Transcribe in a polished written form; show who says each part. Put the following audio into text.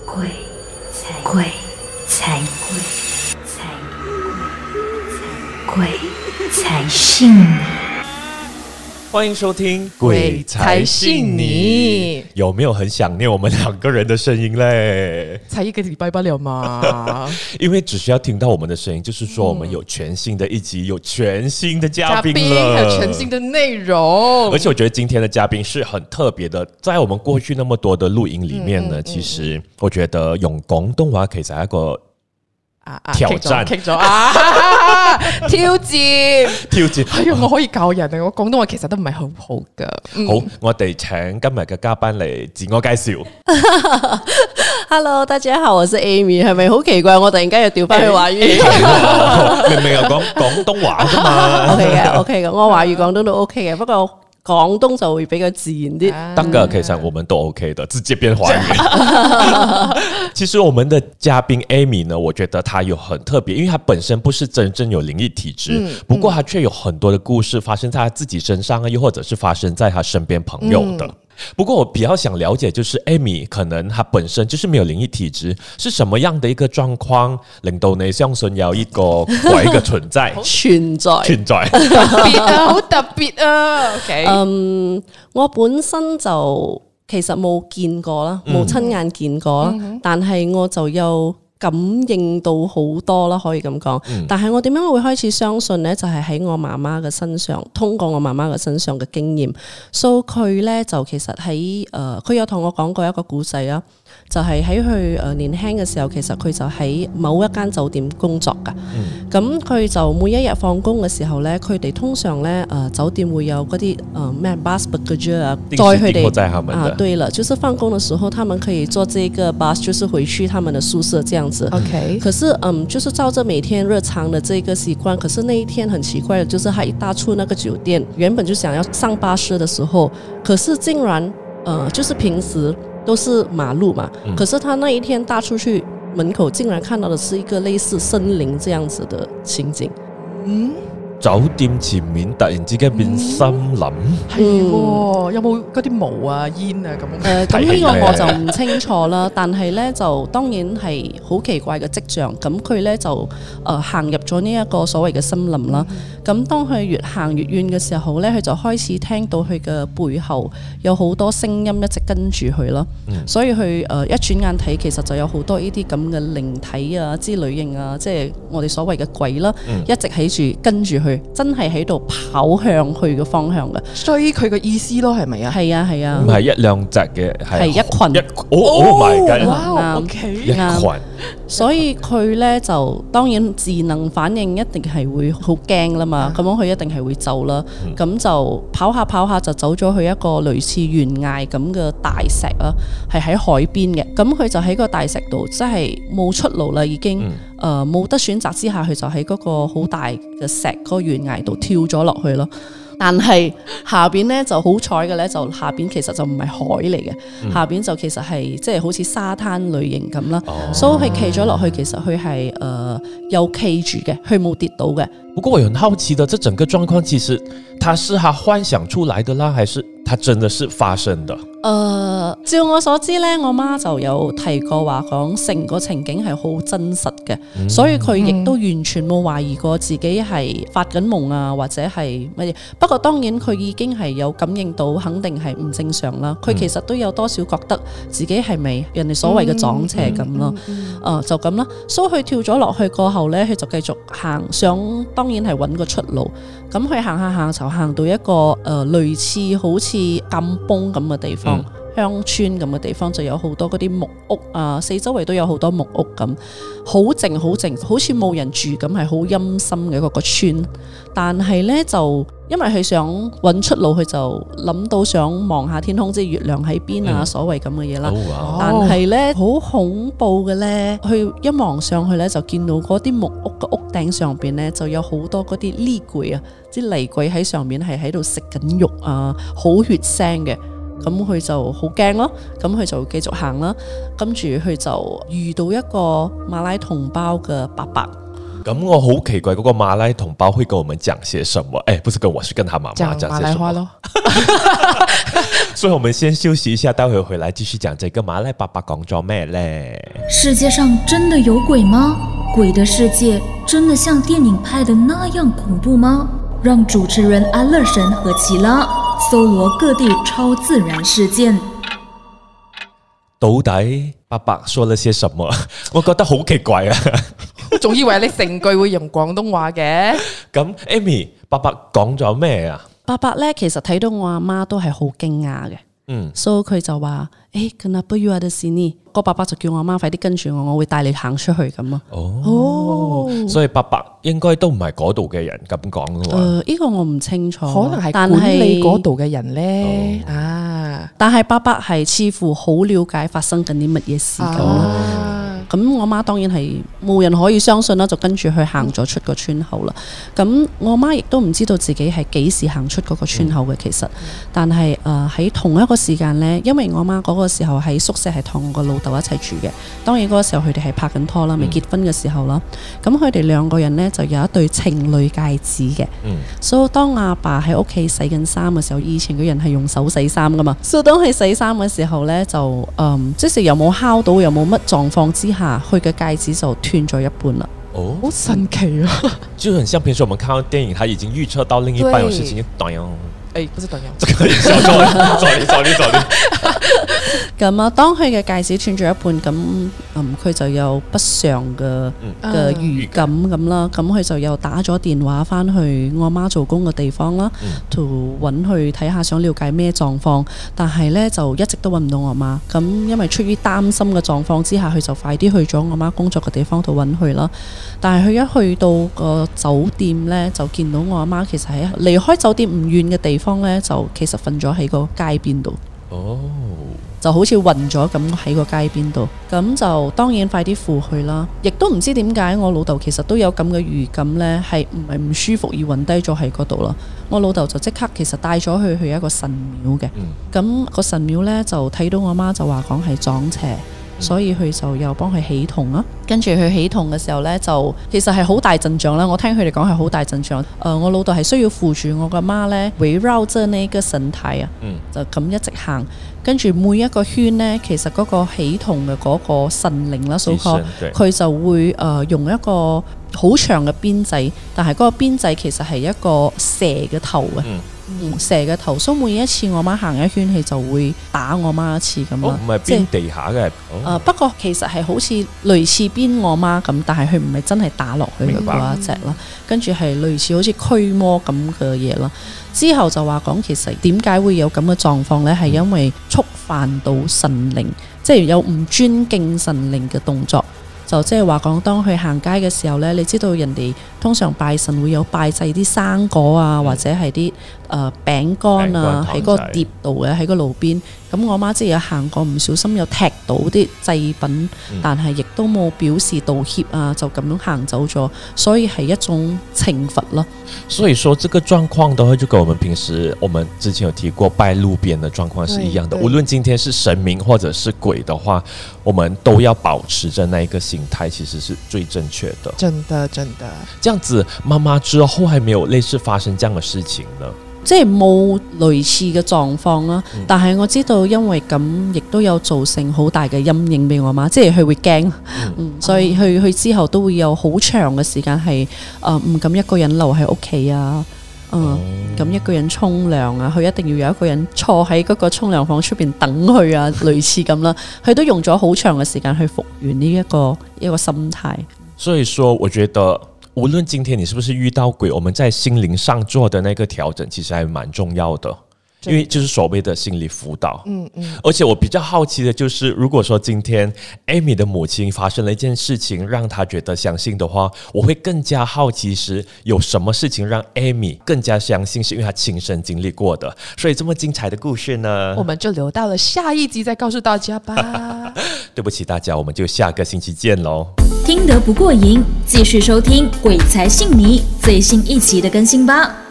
Speaker 1: 鬼才信你。
Speaker 2: 欢迎收听《
Speaker 3: 鬼才信你》。
Speaker 2: 有没有很想念我们两个人的声音嘞？
Speaker 3: 才一个礼拜不了嘛。
Speaker 2: 因为只需要听到我们的声音，就是说我们有全新的一集，有全新的嘉宾了，
Speaker 3: 还有全新的内容。
Speaker 2: 而且我觉得今天的嘉宾是很特别的，在我们过去那么多的录音里面呢，其實我覺得用廣東話其實係一個挑戰，
Speaker 3: 挑戰。哎呀，我可以教人啊！我廣東話其實都唔係好好噶。
Speaker 2: 好，我哋請今日嘅嘉賓嚟自我介紹。
Speaker 4: Hello， 大家好，我是 Amy， 係咪好奇怪？我突然間又調翻去華語，
Speaker 2: 明明係講廣東話㗎嘛。
Speaker 4: OK 嘅，我華語廣東都 OK 嘅，不過廣東就會比較自然啲。
Speaker 2: 得㗎，其實我們都 OK 的，直接變華語。其實我們的嘉賓 Amy 呢，我覺得她有很特別，因為她本身不是真正有靈異體質，不過她卻有很多的故事發生在她自己身上啊，又或者是發生在她身邊朋友的。不過我比較想了解，就是 Amy 可能她本身就是沒有靈異體質，是什麼樣的一個狀況令到你相信有一個鬼嘅存在？
Speaker 4: 存在，
Speaker 3: 特別啊，好特別啊。OK，
Speaker 4: 我本身就其實冇見過啦，冇親眼見過啦，但係我就有感應到好多啦，可以咁講。但係我點樣會開始相信呢？就係喺我媽媽嘅身上，通過我媽媽嘅身上嘅經驗。So 佢呢，就其實喺佢有同我講過一個故仔啊，就係喺佢年輕嘅時候，其實佢就喺某一間酒店工作㗎。咁佢就每一日放工嘅時候呢，佢哋通常呢酒店會有嗰啲咩 bus baggage 啊，載佢哋啊，對了，就是放工的時候，他們可以坐這個 bus，就是回去他們的宿舍這樣子。
Speaker 3: OK，
Speaker 4: 可是就是照着每天日常的這個習慣，可是那一天很奇怪的，就是他一踏出那個酒店，原本就想要上巴士的時候，可是竟然就是平時都是馬路嘛，可是他那一天踏出去門口，竟然看到的是一個類似森林這樣子的情景。
Speaker 2: 酒店前面突然之間變森林，
Speaker 3: 係喎，有冇嗰啲毛啊、煙啊咁？
Speaker 4: 咁呢個我就唔清楚啦，但係呢，就當然係好奇怪嘅跡象。咁佢呢，就行入咗呢一個所謂嘅森林啦。咁當佢越行越遠嘅時候呢，佢就開始聽到佢嘅背後有好多聲音一直跟住佢啦。所以佢一轉眼睇，其實就有好多呢啲咁嘅靈體啊之類型啊，即係我哋所謂嘅鬼啦，一直喺住跟住佢。真係喺度跑向佢嘅方向嘅，
Speaker 3: 追佢嘅意思咯，係咪啊？
Speaker 4: 係啊係啊，
Speaker 2: 唔係一兩隻嘅，
Speaker 4: 係一群。
Speaker 2: Oh my god！
Speaker 3: 哇 ，OK，
Speaker 2: 一群。
Speaker 4: 所以佢咧就當然智能反應一定係會好驚啦嘛，咁樣佢一定係會走啦。咁就跑下跑下就走咗去一個類似懸崖咁嘅大石啦，係喺海邊嘅。咁佢就喺個大石度，即係冇出路啦，已經冇得選擇之下，佢就喺嗰個好大嘅石嗰個懸崖度跳咗落去咯。但係下邊咧就好彩嘅咧，就下邊其實就唔係海嚟嘅，下邊就其實係即係好似沙灘類型咁啦。所以佢企咗落去，其實佢係有企住嘅，佢冇跌倒嘅。
Speaker 2: 不過我很好奇的，這整個狀況其實它是他幻想出來的啦，還是它真的是發生的？
Speaker 4: 照我所知咧，我媽就有提過話講成個情景係好真實嘅，所以佢亦都完全冇懷疑過自己係發緊夢啊，或者係乜嘢。不過當然佢已經係有感應到，肯定係唔正常啦。佢其實都有多少覺得自己係咪人哋所謂嘅撞邪咁咯？就咁啦。所以佢跳咗落去過後咧，佢就繼續行，想當然係揾個出路。咁佢行下行就行到一個類似好似禁崩咁嘅地方。鄉村咁嘅地方就有好多嗰啲木屋啊，四周圍都有好多木屋咁，好靜好靜，好似冇人住咁，係好陰森嘅嗰個村。但係呢，就因為佢想揾出路，佢就諗到想望下天空，即係月亮喺邊啊，所謂咁嘅嘢啦。但係呢，好恐怖嘅呢，佢一望上去呢，就見到嗰啲木屋嘅屋頂上邊呢，就有好多嗰啲厲鬼啊，啲厲鬼喺上面係喺度食緊肉啊，好血腥嘅。咁佢就好驚咯，咁佢就繼續行啦，跟住佢就遇到一個馬拉同胞嘅伯伯，
Speaker 2: 咁我好奇怪，嗰個馬來同胞會跟我們講些什麼？不是跟我，是跟他媽媽講些什麼？
Speaker 3: 講馬來話咯。
Speaker 2: 所以我們先休息一下，待會回來繼續講這個馬來爸爸講咗咩咧？
Speaker 1: 世界上真的有鬼嗎？鬼的世界真的像電影拍的那樣恐怖嗎？讓主持人安樂神和奇拉搜羅各地超自然事件。
Speaker 2: 到底爸爸說了些什麼？我覺得好奇怪啊！
Speaker 3: 我仲以為你成句會用廣東話嘅。
Speaker 2: 咁 Amy， 爸爸講咗咩啊？
Speaker 4: 爸爸咧其實睇到我阿媽都係好驚訝嘅，所以佢就話：Kenapa you ada sini？個爸爸就叫我阿媽快啲跟住我會帶你行出去咁啊。
Speaker 2: 所以爸爸應該都唔係嗰度嘅人咁講嘅喎。
Speaker 4: 呢個我唔清楚，
Speaker 3: 可能係管理嗰度嘅人咧。
Speaker 4: 但係爸爸係似乎好了解發生緊啲乜嘢事咁啦。咁我媽當然係冇人可以相信啦，就跟住去行咗出個村口啦。咁我媽亦都唔知道自己係幾時行出嗰個村口嘅，其實。但係喺同一個時間呢，因為我媽嗰個時候喺宿舍係同我個老豆一齊住嘅。當然嗰個時候佢哋係拍緊拖啦，未結婚嘅時候啦。咁佢哋兩個人呢，就有一對情侶戒指嘅。所以當阿爸喺屋企洗緊衫嘅時候，以前嘅人係用手洗衫噶嘛。所以當佢洗衫嘅時候呢，就即使又冇敲到，又冇乜狀況之下，佢嘅戒指就斷咗一半啦。
Speaker 3: 好神奇啊！
Speaker 2: 就很像平時我們看到電影，他已經預測到另一半有事情，
Speaker 3: 不是短腰，
Speaker 2: 這個走你。
Speaker 4: 咁啊，當佢嘅戒指斷咗一半，咁佢就有不祥嘅預感咁啦。咁佢就又打咗電話翻去我媽做工嘅地方啦，to 揾佢睇下，想了解咩狀況。但係呢，就一直都揾唔到我媽。咁因為出於擔心嘅狀況之下，佢就快啲去咗我媽工作嘅地方度揾佢啦。但係佢一去到個酒店呢，就見到我阿媽其實喺離開酒店唔遠嘅地方呢，就其實瞓咗喺個街邊度。就好似暈咗咁喺個街邊度，咁就當然快啲扶佢啦。亦都唔知點解我老豆其實都有咁嘅預感呢，係唔舒服而暈低咗喺嗰度啦。我老豆就即刻其實帶咗佢去一個神廟嘅，咁個神廟呢，就睇到我媽就話講係撞邪。所以佢就又幫佢起銅啦，跟住佢起銅嘅時候呢，就其實係好大陣仗啦。我聽佢哋講係好大陣仗。我老豆係需要扶住我個媽呢，圍繞着呢個神台啊，就咁一直行。跟住每一個圈呢，其實嗰個起銅嘅嗰個神靈啦，佢就會用一個好長嘅鞭仔，但係嗰個鞭仔其實係一個蛇嘅頭啊。蛇嘅頭，所以每一次我媽行一圈，佢就會打我媽一次咁啦。
Speaker 2: 唔係鞭地下嘅。
Speaker 4: 不過其實係好似類似鞭我媽咁，但係佢唔係真係打落去嘅嗰一隻啦。跟住係類似好似驅魔咁嘅嘢啦。之後就話講其實點解會有咁嘅狀況呢？係因為觸犯到神靈，即係有唔尊敬神靈嘅動作。就即係話講，當佢行街嘅時候呢，你知道人哋通常拜神會有拜祭啲生果啊，或者係啲餅乾啊，喺個碟度嘅，喺個路邊。咁我媽即係有行過，唔小心有踢到啲祭品，但係亦都冇表示道歉啊，就咁樣行走咗，所以係一種懲罰咯。
Speaker 2: 所以說，這個狀況的話，就跟我們平時我們之前有提過拜路邊的狀況是一樣的。無論今天是神明或者是鬼的話，我們都要保持着那一個心態，其實是最正確的。
Speaker 3: 真的。
Speaker 2: 這樣子，媽媽之後還沒有類似發生這樣的事情呢？
Speaker 4: 即係冇類似嘅狀況啦，但係我知道因為咁，亦都有造成好大嘅陰影俾我媽，即係佢會驚，所以佢之後都會有好長嘅時間係唔敢一個人留喺屋企啊，咁一個人沖涼啊，佢一定要有一個人坐喺嗰個沖涼房出邊等佢啊，類似咁啦，佢都用咗好長嘅時間去復原呢一個心態。
Speaker 2: 所以說，我覺得無論今天你是不是遇到鬼，我們在心靈上做的那個調整其實還蠻重要的，因為就是所謂的心理輔導。而且我比較好奇的就是如果說今天 Amy 的母親發生了一件事情讓她覺得相信的話，我會更加好奇是有什麼事情讓 Amy 更加相信，是因為她親身經歷過的。所以這麼精彩的故事呢，
Speaker 3: 我們就留到了下一集再告訴大家吧。
Speaker 2: 對不起大家，我們就下個星期見咯。
Speaker 1: 聽得不過癮，繼續收聽《鬼才信你》最新一期的更新吧。